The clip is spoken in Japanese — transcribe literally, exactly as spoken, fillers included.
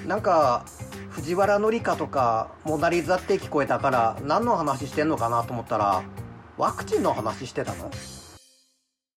なんか藤原紀香とかモナリザって聞こえたから何の話してんのかなと思ったらワクチンの話してたの？